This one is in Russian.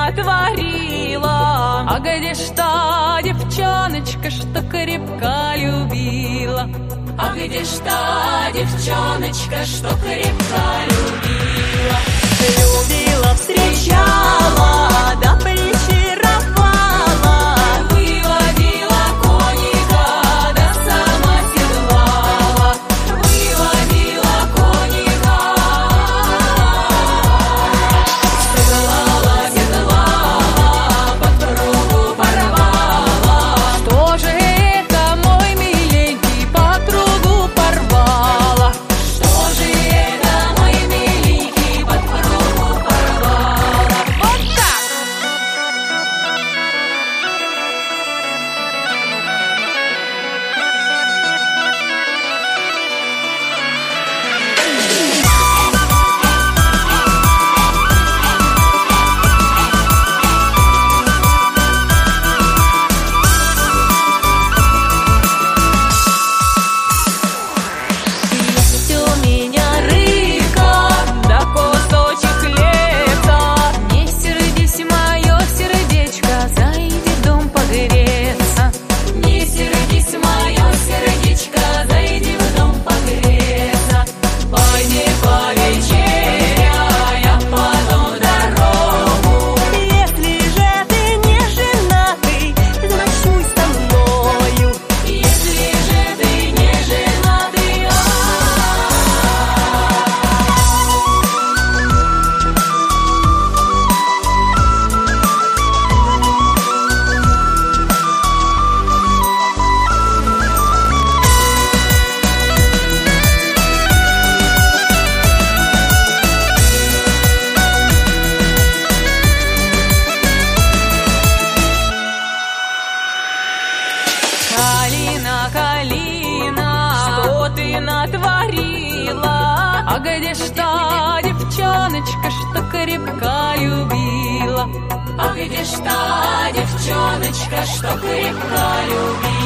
натворила? А где ж та девчоночка, что крепко любила? А где ж та девчоночка, что крепко любила? Любила, встречала, да причаровала, выводила коника, да сама седлала, выводила коника, седлала, подпругу порвала. Что же это, мой миленький, подпругу порвала? Что же это, мой миленький, подпругу порвала? Вот так! Есть у меня рыбка, да кусочек хлеба. Не сердись, мое сердечко, зайди в дом погреться. Не сердись, мое сердечко, зайди в дом погреться. Пойди повечеряй, а потом в дорогу. Если же ты не женатый, ночуй со мною. Если же ты не женатый, Калина, Калина, что ты натворила? А где ж та девчоночка, что крепко любила? А где ж та девчоночка, что крепко любила?